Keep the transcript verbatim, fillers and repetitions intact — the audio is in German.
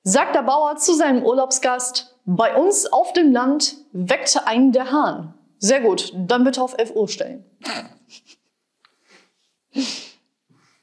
Sagt der Bauer zu seinem Urlaubsgast: Bei uns auf dem Land weckte einen der Hahn. Sehr gut, dann bitte auf elf Uhr stellen.